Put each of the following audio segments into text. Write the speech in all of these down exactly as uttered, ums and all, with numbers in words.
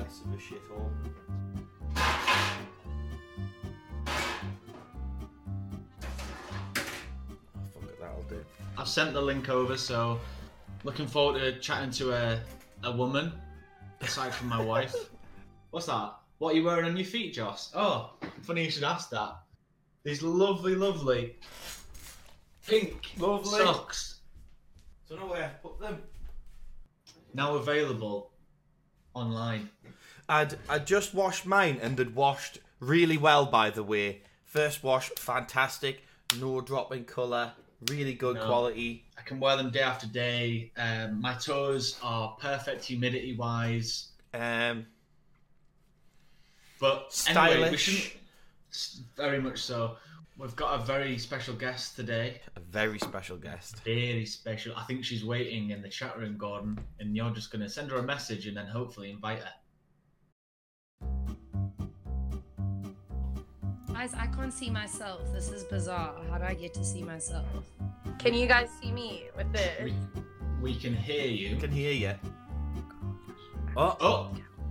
mess of a shithole. Oh, fuck it, that'll do. I've sent the link over, so looking forward to chatting to a, a woman, aside from my wife. What's that? What are you wearing on your feet, Joss? Oh, funny you should ask that. These lovely, lovely pink Lovely. socks. Don't know where I put them. Now available online. I'd I just washed mine and had washed really well, by the way. First wash, fantastic. No drop in colour. Really good No. quality. I can wear them day after day. Um, my toes are perfect humidity wise. Um, But Stylish. anyway, we shouldn't. Very much so. We've got a very special guest today. a very special guest. Very special. I think she's waiting in the chat room, Gordon, and you're just going to send her a message and then hopefully invite her. Guys, I can't see myself. This is bizarre. How do I get to see myself? Can you guys see me with this? We, we can hear you. I can hear you. Oh, Oh!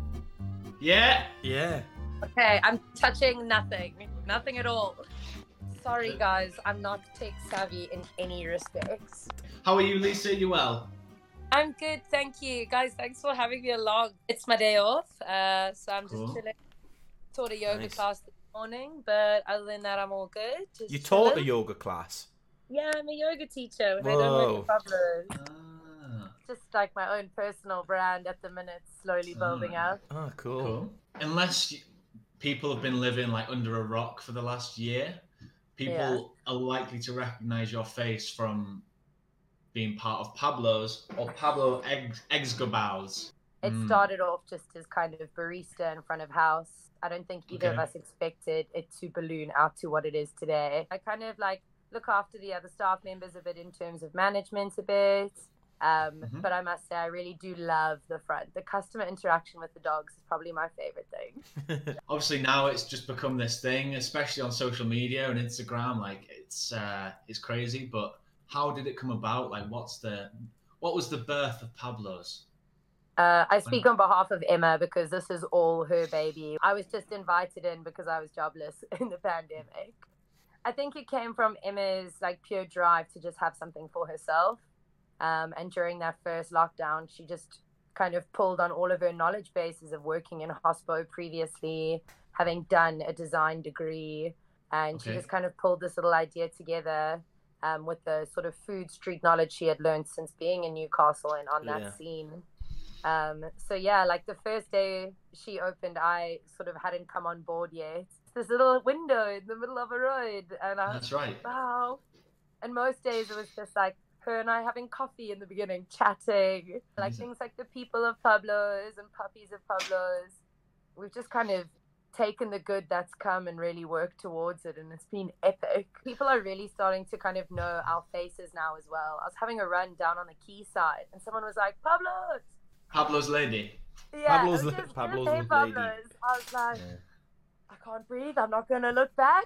Yeah! yeah. Okay, I'm touching nothing. Nothing at all. Sorry, guys. I'm not tech savvy in any respects. How are you, Lisa? You well? I'm good, thank you. Guys, thanks for having me along. It's my day off, uh, so I'm just Cool. chilling. Taught a yoga Nice. class this morning, but other than that, I'm all good. Just You taught a chilling. yoga class. Yeah, I'm a yoga teacher. With Whoa. Pablo. Ah, Just like my own personal brand at the minute, slowly building Ah. up. Oh, cool. cool. Unless you, people have been living like under a rock for the last year, people Yeah. are likely to recognize your face from being part of Pablo's or Pablo Eggs Eggsgabaus. It Mm. started off just as kind of barista in front of house. I don't think either of Okay. us expected it to balloon out to what it is today. I kind of like look after the other staff members a bit in terms of management a bit. Um, Mhm. But I must say, I really do love the front. The customer interaction with the dogs is probably my favorite thing. Obviously now it's just become this thing, especially on social media and Instagram. Like it's uh, it's crazy. But how did it come about? Like, what's the what was the birth of Pablo's? Uh, I speak on behalf of Emma because this is all her baby. I was just invited in because I was jobless in the pandemic. I think it came from Emma's like pure drive to just have something for herself. Um, and during that first lockdown, she just kind of pulled on all of her knowledge bases of working in hospo previously, having done a design degree. And she Okay. just kind of pulled this little idea together um, with the sort of food street knowledge she had learned since being in Newcastle and on that Yeah. scene. Um, so yeah, like the first day she opened, I sort of hadn't come on board yet. This little window in the middle of a road, and I was That's right. wow. And most days it was just like her and I having coffee in the beginning, chatting, like Amazing. things like the people of Pablo's and puppies of Pablo's. We've just kind of taken the good that's come and really worked towards it, and it's been epic. People are really starting to kind of know our faces now as well. I was having a run down on the quayside, and someone was like, "Pablo's." Pablo's lady. Yeah, Pablo's it was la- just, Pablo's "Hey, lady." Pablo's." I was like, Yeah. I can't breathe. I'm not going to look back.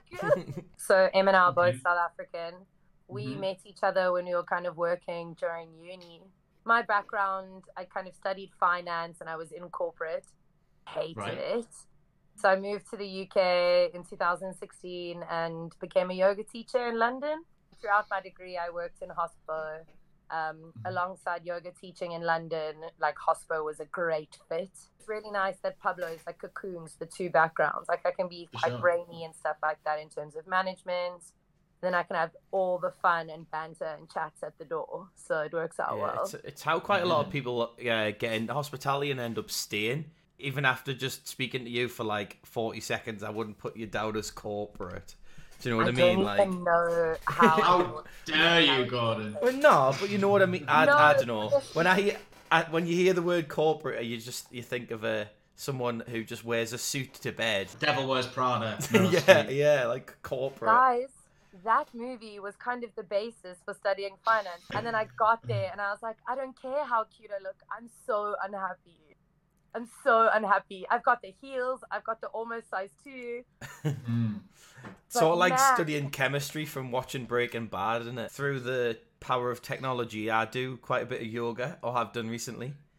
So Em and I are both Okay. South African. We Mhm. met each other when we were kind of working during uni. My background, I kind of studied finance and I was in corporate. Hated Right. it. So I moved to the U K in two thousand sixteen and became a yoga teacher in London. Throughout my degree, I worked in hospo. Um, alongside yoga teaching in London, like hospo was a great fit. It's really nice that Pablo's like cocoons the two backgrounds. Like I can be For quite sure. brainy and stuff like that in terms of management. Then I can have all the fun and banter and chats at the door. So it works out Yeah, well. it's, it's how quite a lot of Yeah. people uh, get into hospitality and end up staying. Even after just speaking to you for like forty seconds, I wouldn't put you down as corporate. Do you know what I, mean? don't Like, even know how. How dare you, Gordon? well, no, but you know what I mean. I, No, I don't know. yes. When I hear I, when you hear the word corporate, you just you think of a someone who just wears a suit to bed. Devil Wears Prada. Meryl yeah, Streep. yeah, like corporate. Guys, that movie was kind of the basis for studying finance. And then I got there and I was like, I don't care how cute I look. I'm so unhappy. I'm so unhappy. I've got the heels. I've got the almost size two. Mm. Sort of like man. studying chemistry from watching Breaking Bad, isn't it? Through the power of technology, I do quite a bit of yoga, or have done recently.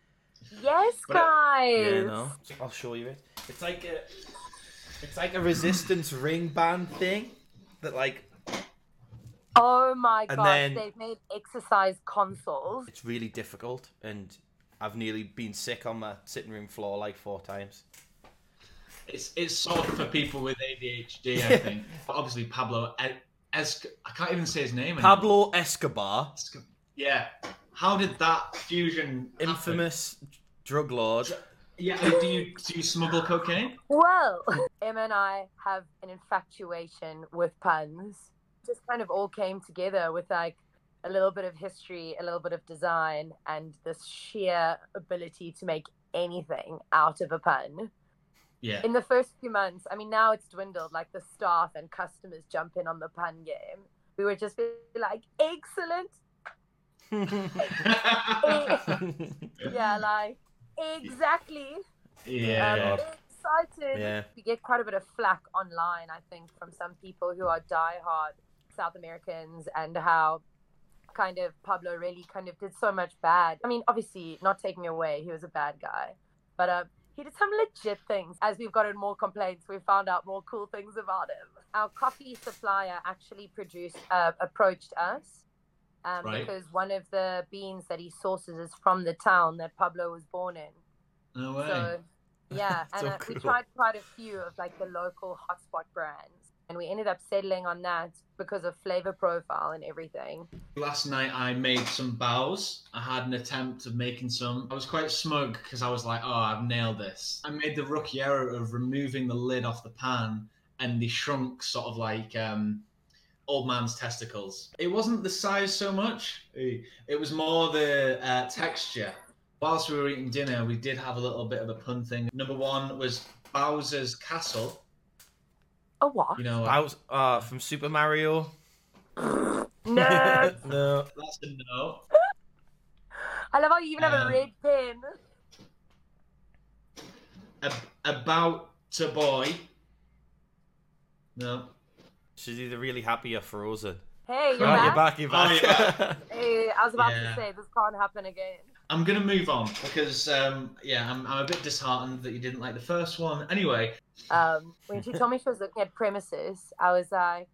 Yes, But it- guys. Yeah, no. I'll show you it. It's like a, it's like a resistance ring band thing that like Oh my And gosh, then- they've made exercise consoles. it's really difficult, and I've nearly been sick on my sitting room floor like four times. It's it's sort of for people with A D H D, I think. Obviously, Pablo Es- Es- I can't even say his name. anymore. Pablo Escobar, Esco- Yeah. How did that fusion? happen? infamous drug lord. Yeah. Do you do you smuggle cocaine? Well, Emma and I have an infatuation with puns. Just kind of all came together with like a little bit of history, a little bit of design, and this sheer ability to make anything out of a pun. Yeah. In the first few months, I mean, now it's dwindled, like the staff and customers jump in on the pun game. We would just be like, excellent. Yeah, like, exactly. yeah. Um, excited. Yeah. We get quite a bit of flack online, I think, from some people who are diehard South Americans, and how kind of Pablo really kind of did so much bad. I mean, obviously, not taking away, he was a bad guy, but um, he did some legit things. As we've gotten more complaints, we found out more cool things about him. Our coffee supplier actually produced, uh, approached us um, Right. because one of the beans that he sources is from the town that Pablo was born in. No way. So, yeah, and So uh, we cool. tried quite a few of like the local hotspot brands, and we ended up settling on that because of flavor profile and everything. Last night I made some bows. I had an attempt of making some. I was quite smug because I was like, oh, I've nailed this. I made the rookie error of removing the lid off the pan, and they shrunk sort of like um, old man's testicles. It wasn't the size so much. It was more the uh, texture. Whilst we were eating dinner, we did have a little bit of a pun thing. Number one was Bowser's Castle. Oh, what? You know, uh, Bowser, uh, from Super Mario. No. No. that's a no. I love how you even have a Um, red pen. Ab- about a boy. No. She's either really happy or frozen. Hey, you're Oh, back? You're back, you're Oh, back. yeah. Hey, I was about Yeah. to say, this can't happen again. I'm gonna move on because um, yeah, I'm, I'm a bit disheartened that you didn't like the first one. Anyway, Um, when she told me she was looking at premises, I was like,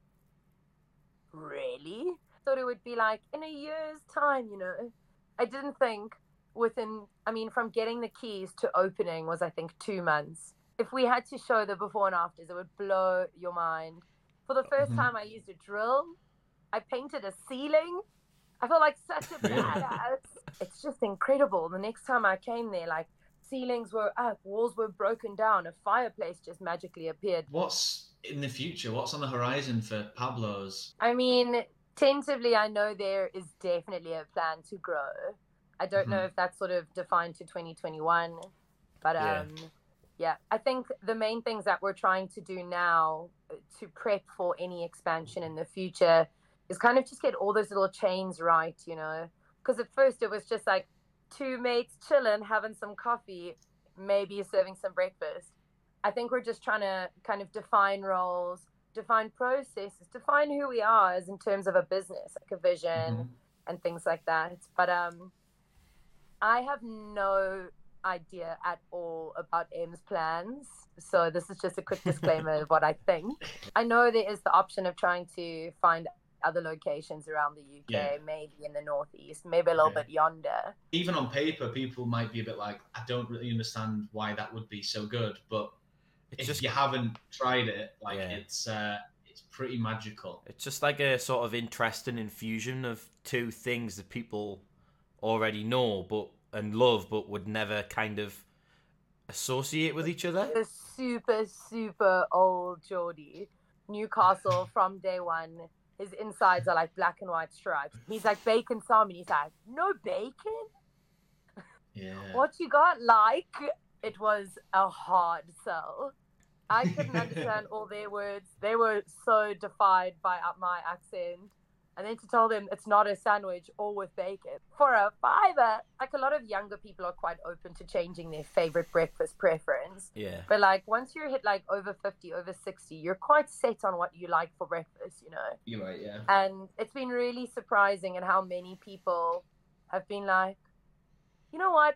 really? Thought it would be like in a year's time, you know. I didn't think within, I mean, from getting the keys to opening was, I think, two months. If we had to show the before and afters, it would blow your mind. For the first Mhm. time I used a drill, I painted a ceiling. I felt like such a Really? badass. It's just incredible. The next time I came there, like, ceilings were up, walls were broken down, a fireplace just magically appeared. what's in the future? What's on the horizon for Pablo's? I mean, tentatively, I know there is definitely a plan to grow. I don't know Mhm. if that's sort of defined to twenty twenty-one, but Yeah. um, yeah, I think the main things that we're trying to do now to prep for any expansion in the future is kind of just get all those little chains right, you know? Because at first it was just like two mates chilling, having some coffee, maybe serving some breakfast. I think we're just trying to kind of define roles, define processes, define who we are as in terms of a business, like a vision Mhm. and things like that. But um, I have no idea at all about M's plans. So this is just a quick disclaimer of what I think. I know there is the option of trying to find other locations around the U K, Yeah. maybe in the Northeast, maybe a little Okay. bit yonder. Even on paper, people might be a bit like, I don't really understand why that would be so good. But It's if just you haven't tried it, like Yeah. it's uh, it's pretty magical. It's just like a sort of interesting infusion of two things that people already know but and love, but would never kind of associate with each other. The super, super old Geordie, Newcastle from day one. His insides are like black and white stripes. He's like bacon salmon. He's like, no bacon? Yeah. What you got? Like, it was a hard sell. I couldn't understand all their words. They were so defied by uh, my accent. And then to tell them it's not a sandwich or with bacon for a fiver. Like, a lot of younger people are quite open to changing their favorite breakfast preference. Yeah. But like, once you're hit like over fifty, over sixty, you're quite set on what you like for breakfast, you know? You're right. Yeah. And it's been really surprising at how many people have been like, you know what?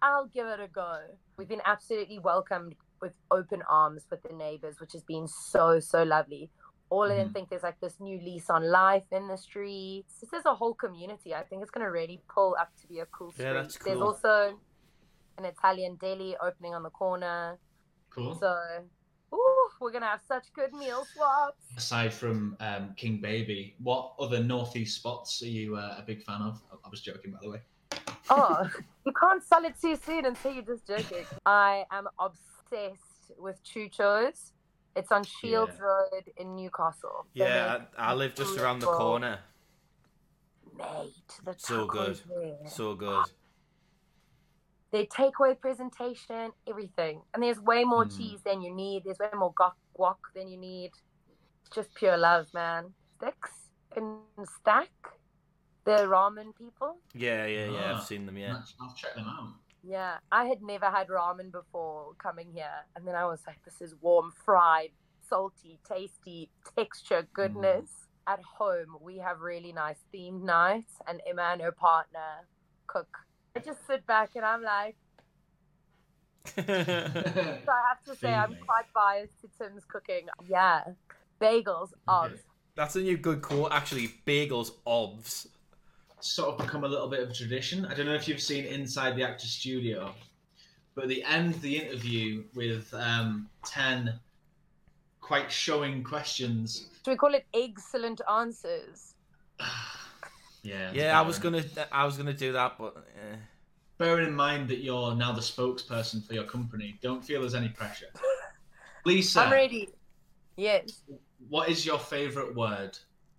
I'll give it a go. We've been absolutely welcomed with open arms with the neighbors, which has been so, so lovely. All of them Mhm. think there's like this new lease on life in the streets. This is a whole community. I think it's going to really pull up to be a cool street. Yeah, that's There's cool. also an Italian deli opening on the corner. Cool. So, ooh, we're going to have such good meal swaps. Aside from um, King Baby, what other northeast spots are you uh, a big fan of? I was joking, by the way. Oh, you can't sell it too soon and say you're just joking. I am obsessed with Chucho's. It's on Shields Yeah. Road in Newcastle. They Yeah, make I, I live just around the beautiful- corner. Mate, the So good. tacos there. So good. Their takeaway presentation, everything. And there's way more Mm. cheese than you need. There's way more guac, guac than you need. It's just pure love, man. Sticks and stack. The ramen people. Yeah, yeah, yeah. Ah. I've seen them. Yeah. I'll I'll check them out. Yeah, I had never had ramen before coming here. And then I was like, this is warm, fried, salty, tasty, texture, goodness. At home, we have really nice themed nights, and Emma and her partner cook. I just sit back and I'm like, so I have to say, I'm Feed me. quite biased to Tim's cooking. Yeah, bagels, Okay. obs. That's a new good quote, actually. Bagels, obvs. Sort of become a little bit of a tradition. I don't know if you've seen Inside the Actors Studio, but they end the interview with um, ten quite showing questions. Should we call it excellent answers? Yeah. Yeah, I was better. gonna, I was gonna do that, but eh. Bearing in mind that you're now the spokesperson for your company, don't feel there's any pressure. Lisa, I'm ready. Yes. what is your favourite word?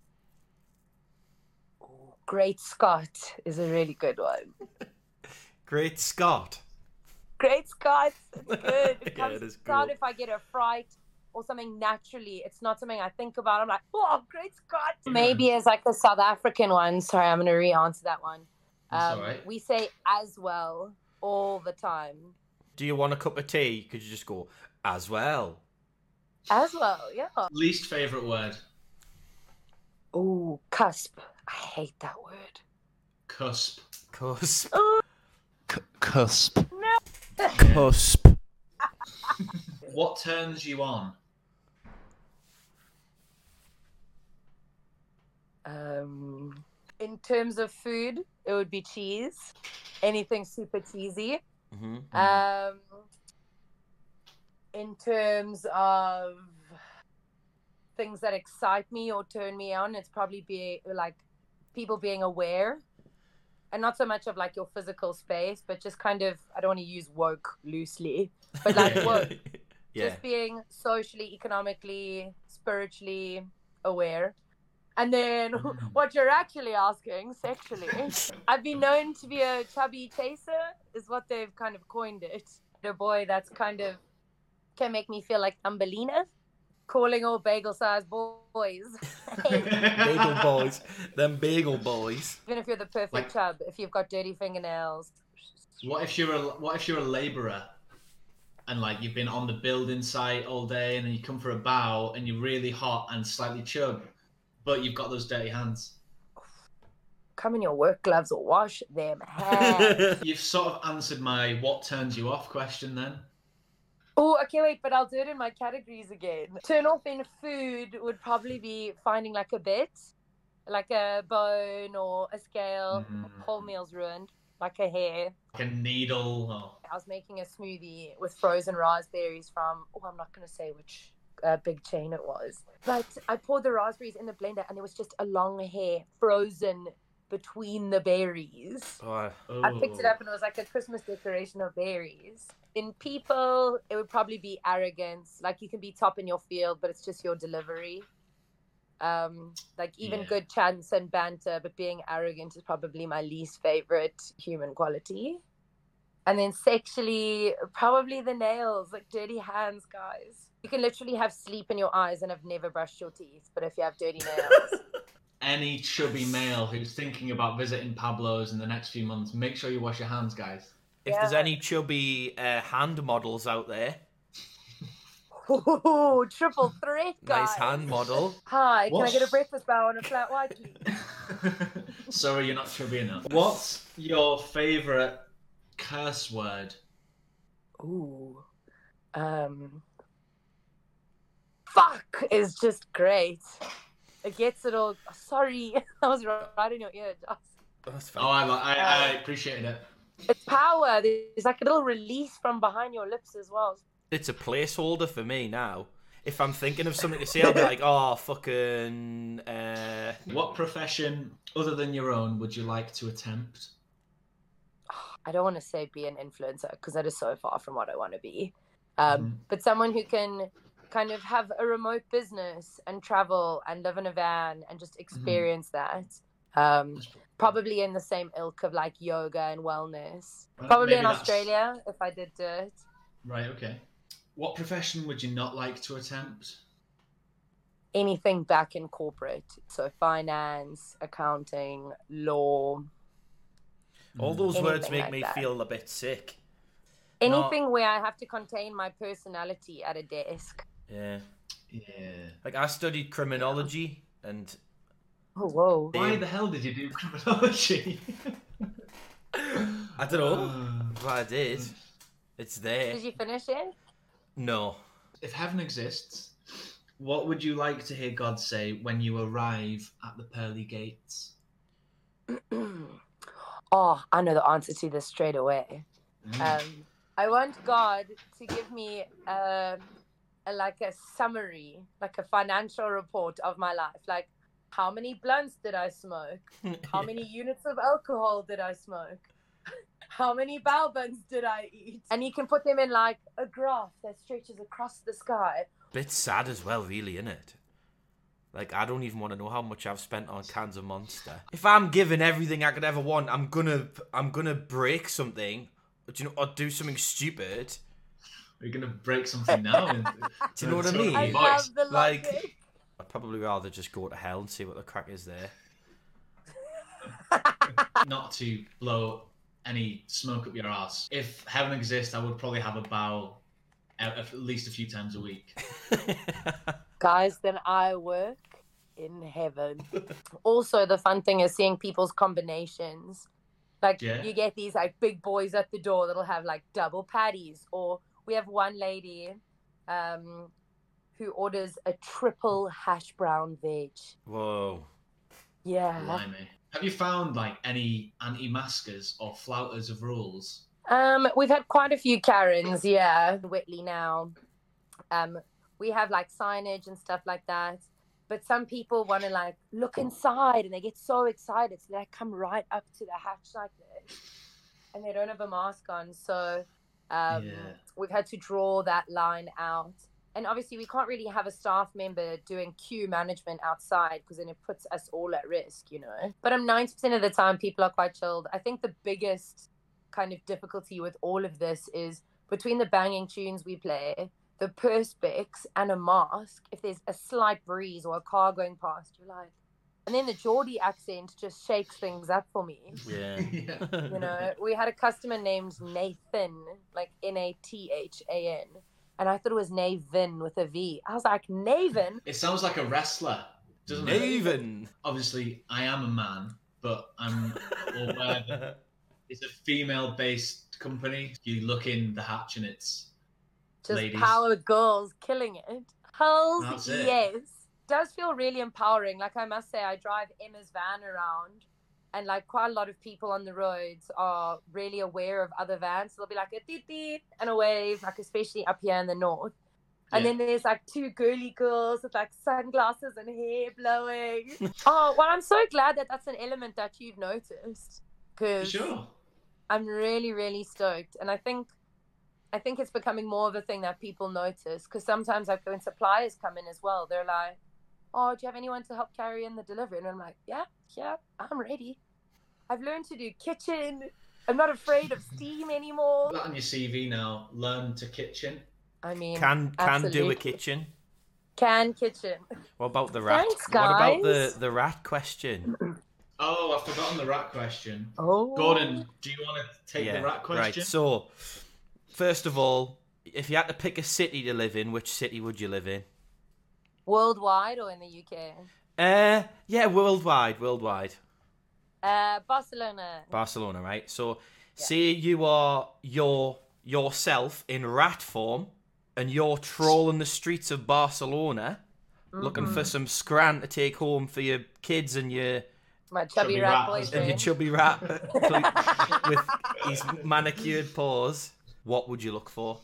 Great Scott is a really good one. Great Scott. Great Scott. It's good. It Yeah, comes it is out good. if I get a fright or something naturally. It's not something I think about. I'm like, oh, Great Scott. Maybe as like a South African one. Sorry, I'm going to re-answer that one. That's Um, all right. We say as well all the time. Do you want a cup of tea? Could you just go as well? As well, yeah. Least favourite word? Oh, cusp. I hate that word. Cusp. Cusp. Cusp. Cusp. What turns you on? Um, in terms of food, it would be cheese. Anything super cheesy. hmm Um, in terms of things that excite me or turn me on, it's probably be like people being aware, and not so much of like your physical space, but just kind of, I don't want to use woke loosely, but like Yeah. woke, yeah. just being socially, economically, spiritually aware. And then what you're actually asking, sexually, I've been known to be a chubby chaser, is what they've kind of coined it. The boy that's kind of can make me feel like Thumbelina, calling all bagel-sized boys. Bagel boys. Them bagel boys. Even if you're the perfect Like- chub, if you've got dirty fingernails. What if you're a What if you're a labourer, and like you've been on the building site all day, and then you come for a bow, and you're really hot and slightly chub, but you've got those dirty hands. Come in your work gloves or wash them hands. You've sort of answered my "what turns you off" question then. Oh, okay, wait, but I'll do it in my categories again. Turn off in food would probably be finding like a bit, like a bone or a scale. Mhm. Whole meal's ruined, like a hair. Like a needle. Or... I was making a smoothie with frozen raspberries from, oh, I'm not going to say which uh, big chain it was. But I poured the raspberries in the blender and there was just a long hair frozen between the berries. Oh, Oh. I picked it up and it was like a Christmas decoration of berries. In people, it would probably be arrogance. Like you can be top in your field, but it's just your delivery. Um, like even Yeah. good chance and banter, but being arrogant is probably my least favorite human quality. And then sexually, probably the nails, like dirty hands, guys. You can literally have sleep in your eyes and have never brushed your teeth, but if you have dirty nails, Any chubby male who's thinking about visiting Pablo's in the next few months, make sure you wash your hands, guys. if there's Yeah. any chubby uh, hand models out there, ooh, triple threat, guys. nice hand model. Hi, can I What's- get a breakfast bar on a flat white, please? Sorry, you're not chubby enough. What's your favourite curse word. Ooh. Um. Fuck is just great. It gets it all. Sorry, I was right in your ear, Joss. That's Oh, fine. I, I, I appreciated it. It's power. There's like a little release from behind your lips as well. It's a placeholder for me now. If I'm thinking of something to say, I'll be like, oh, fucking... Uh... What profession other than your own would you like to attempt? I don't want to say be an influencer because that is so far from what I want to be. Um, Mhm. But someone who can kind of have a remote business and travel and live in a van and just experience that. Um, That's- probably in the same ilk of like yoga and wellness. Well, Probably maybe in that's- Australia if I did do it. Right, okay. What profession would you not like to attempt? Anything back in corporate. So finance, accounting, law, All those Anything words make like me that. feel a bit sick. anything where I have to contain my personality at a desk. Yeah. Yeah. Like, I studied criminology, and... Oh, whoa. Why the hell did you do criminology? I don't know. But I did. It's there. Did you finish it? No. If heaven exists, what would you like to hear God say when you arrive at the pearly gates? Oh, I know the answer to this straight away. Mm. Um, I want God to give me um a, like a summary, like a financial report of my life. Like, how many blunts did I smoke? How many units of alcohol did I smoke? How many bao buns did I eat? And you can put them in like a graph that stretches across the sky. Bit sad as well, really, isn't it? Like, I don't even want to know how much I've spent on cans of Monster. If I'm given everything I could ever want, I'm gonna, I'm gonna break something, or, do you know, or do something stupid. We're gonna break something now. And, Do you know what I tone of mean? your I voice. love the Like- logic. I'd probably rather just go to hell and see what the crack is there. Not to blow any smoke up your ass. If heaven exists, I would probably have a bow at, at least a few times a week. Guys, then I work in heaven. Also, the fun thing is seeing people's combinations. Like, Yeah. you get these like big boys at the door that'll have like double patties, or we have one lady um who orders a triple hash brown veg. Whoa. Yeah. Blimey. Have you found like any anti-maskers or flouters of rules? Um, we've had quite a few Karens, yeah, Whitley now. Um, we have like signage and stuff like that. But some people want to like look inside and they get so excited. So they like, come right up to the hatch like this. And they don't have a mask on. So um, Yeah. we've had to draw that line out. And obviously we can't really have a staff member doing queue management outside because then it puts us all at risk, you know. But um, ninety percent of the time people are quite chilled. I think the biggest kind of difficulty with all of this is between the banging tunes we play, the perspex and a mask, if there's a slight breeze or a car going past, you're like, and then the Geordie accent just shakes things up for me. Yeah. Yeah. You know, we had a customer named Nathan, like N A T H A N, and I thought it was Navin with a V. I was like, Navin? It sounds like a wrestler, doesn't it? Naven. Obviously, I am a man, but I'm aware that it's a female-based company. You look in the hatch and it's Just ladies. power girls killing it. Hells That's it. yes. Does feel really empowering. Like, I must say, I drive Emma's van around, and like quite a lot of people on the roads are really aware of other vans. So they'll be like a deet deet and a wave, like especially up here in the north. And Yeah. then there's like two girly girls with like sunglasses and hair blowing. Oh, well, I'm so glad that that's an element that you've noticed, For because sure. I'm really, really stoked. And I think I think it's becoming more of a thing that people notice, because sometimes like when suppliers come in as well, they're like, oh, do you have anyone to help carry in the delivery? And I'm like, yeah, yeah, I'm ready. I've learned to do kitchen. I'm not afraid of steam anymore. Put that on your C V now. Learn to kitchen. I mean, Can can do a absolutely. kitchen. Can kitchen. What about the rat? Thanks, What about the guys. the rat question? Oh, I've forgotten the rat question. Oh. Gordon, do you want to take the rat question? Right. So, first of all, if you had to pick a city to live in, which city would you live in? Worldwide or in the U K? Uh, yeah, worldwide, worldwide. Uh, Barcelona. Barcelona, right? So, Say you are your yourself in rat form, and you're trolling the streets of Barcelona, mm-hmm. looking for some scran to take home for your kids and your my chubby, chubby rat, rat boyfriend. And your chubby rat with his manicured paws. What would you look for?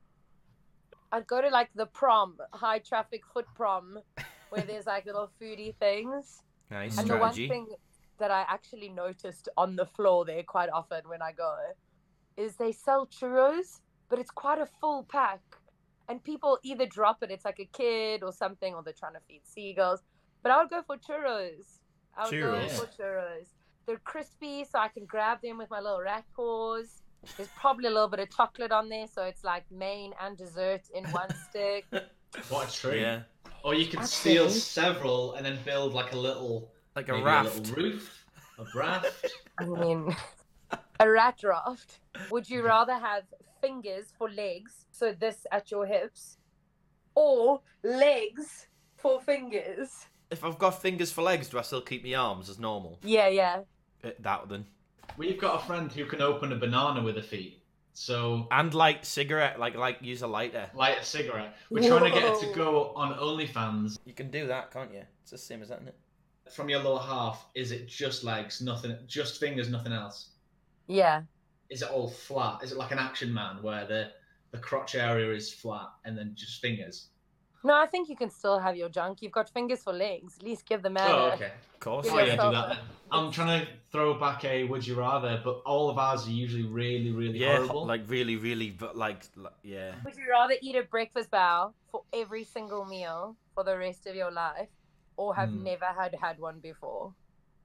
I'd go to like the prom, high traffic foot prom, where there's like little foodie things. Nice and strategy. The one thing that I actually noticed on the floor there quite often when I go is they sell churros, but it's quite a full pack. And people either drop it, it's like a kid or something, or they're trying to feed seagulls. But I would go for churros. I would churros. go for churros. They're crispy, so I can grab them with my little rat paws. There's probably a little bit of chocolate on there, so it's like main and dessert in one stick. What a treat. Yeah. Or you could That's steal it. several and then build like a little... Like a maybe raft. A little roof. A raft. I mean, a rat raft. Would you rather have fingers for legs, so this at your hips, or legs for fingers? If I've got fingers for legs, do I still keep my arms as normal? Yeah, yeah. Uh, that then. We've got a friend who can open a banana with her feet. So and light cigarette, like like use a lighter. Light a cigarette. We're Whoa. trying to get her to go on OnlyFans. You can do that, can't you? It's the same as that, isn't it? From your lower half, is it just legs, nothing, just fingers, nothing else? Yeah. Is it all flat? Is it like an Action Man where the the crotch area is flat and then just fingers? No, I think you can still have your junk. You've got fingers for legs. At least give them out. Oh, okay. Of course. Oh, yeah, do that then. I'm trying to throw back a would you rather, but all of ours are usually really, really yeah, horrible. like really, really, but like, like, yeah. Would you rather eat a breakfast bow for every single meal for the rest of your life, or have Hmm. never had had one before?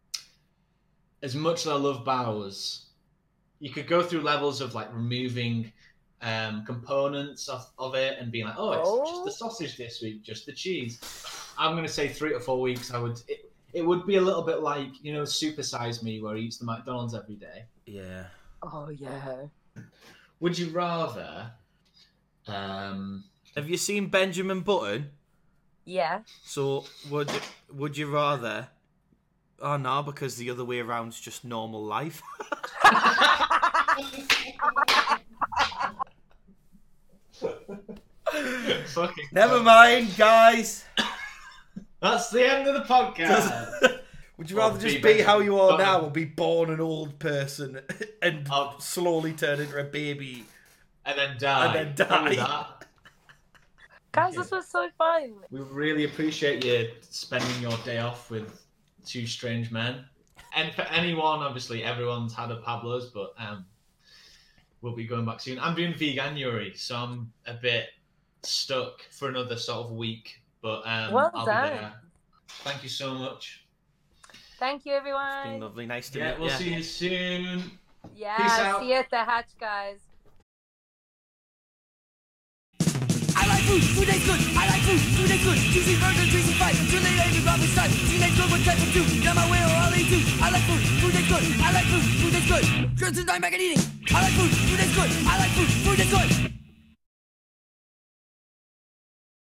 As much as I love bows, you could go through levels of like removing um, components of, of it and being like, oh, it's Oh. just the sausage this week, just the cheese. I'm going to say three to four weeks. I would. It, it would be a little bit like, you know, Super Size Me, where he eats the McDonald's every day. Yeah. Oh, yeah. Would you rather? Um, Have you seen Benjamin Button? Yeah. So would would you rather? Oh no, because the other way around's just normal life. Fucking Never God. mind, guys. That's the end of the podcast. Would you Well, rather just be be better. how you are Oh. now, or be born an old person and Oh. slowly turn into a baby? and then die. And then How was die. that? Guys, this was so fun. We really appreciate you spending your day off with two strange men. And for anyone, obviously, everyone's had a Pablo's, but um, we'll be going back soon. I'm doing Veganuary, so I'm a bit stuck for another sort of week. But um, Well I'll done. be there. Thank you so much. Thank you, It's been everyone. lovely, nice to Yeah, meet we'll you. see you soon. Yeah, Peace out. see you at the hatch, guys. I like food, food tastes good. I like food, food tastes good. Juicy burger, juicy fight. Too late, every Robin's time. Teenage good, what type of do? Got my way or I'll eat too. I like food, food tastes good. I like food, food tastes good. Girls and I'm back at eating. I like food, food tastes good. I like food, food tastes good.